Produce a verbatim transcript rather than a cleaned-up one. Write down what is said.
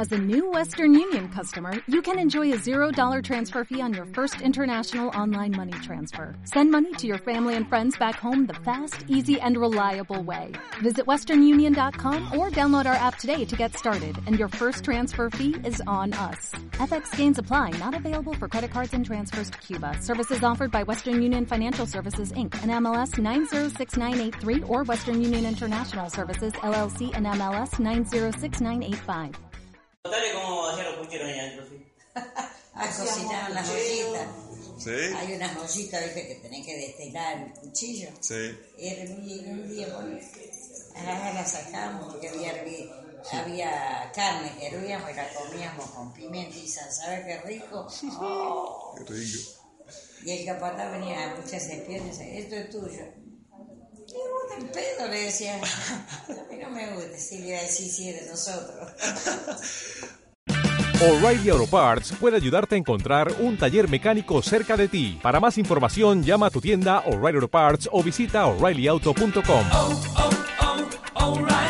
As a new Western Union customer, you can enjoy a zero dollar transfer fee on your first international online money transfer. Send money to your family and friends back home the fast, easy, and reliable way. Visit western union dot com or download our app today to get started, and your first transfer fee is on us. F X gains apply, not available for credit cards and transfers to Cuba. Services offered by Western Union Financial Services, Incorporated, and M L S nine zero six nine eight three or Western Union International Services, L L C, and M L S nine zero six nine eight five. Contale cómo hacían los pucheros allá adentro, ¿sí? Ah, cocinaban las ollitas. Sí. Hay unas ollitas, viste, que tenés que destilar el cuchillo. Sí. Y era un día, un día bueno, ahora la sacamos porque había, hervi- había carne que hervíamos y la comíamos con pimienta y sal. ¿Sabes qué rico? Oh. Qué rico. Y el capataz venía a pucharse el pie y decía, esto es tuyo. Me gusta el pedo, le decía. A mí no me gusta, sí, le iba a decir, sí, es de nosotros. O'Reilly Auto Parts puede ayudarte a encontrar un taller mecánico cerca de ti. Para más información, llama a tu tienda O'Reilly Auto Parts o visita o'Reilly auto punto com. Oh, oh, oh, O'Reilly.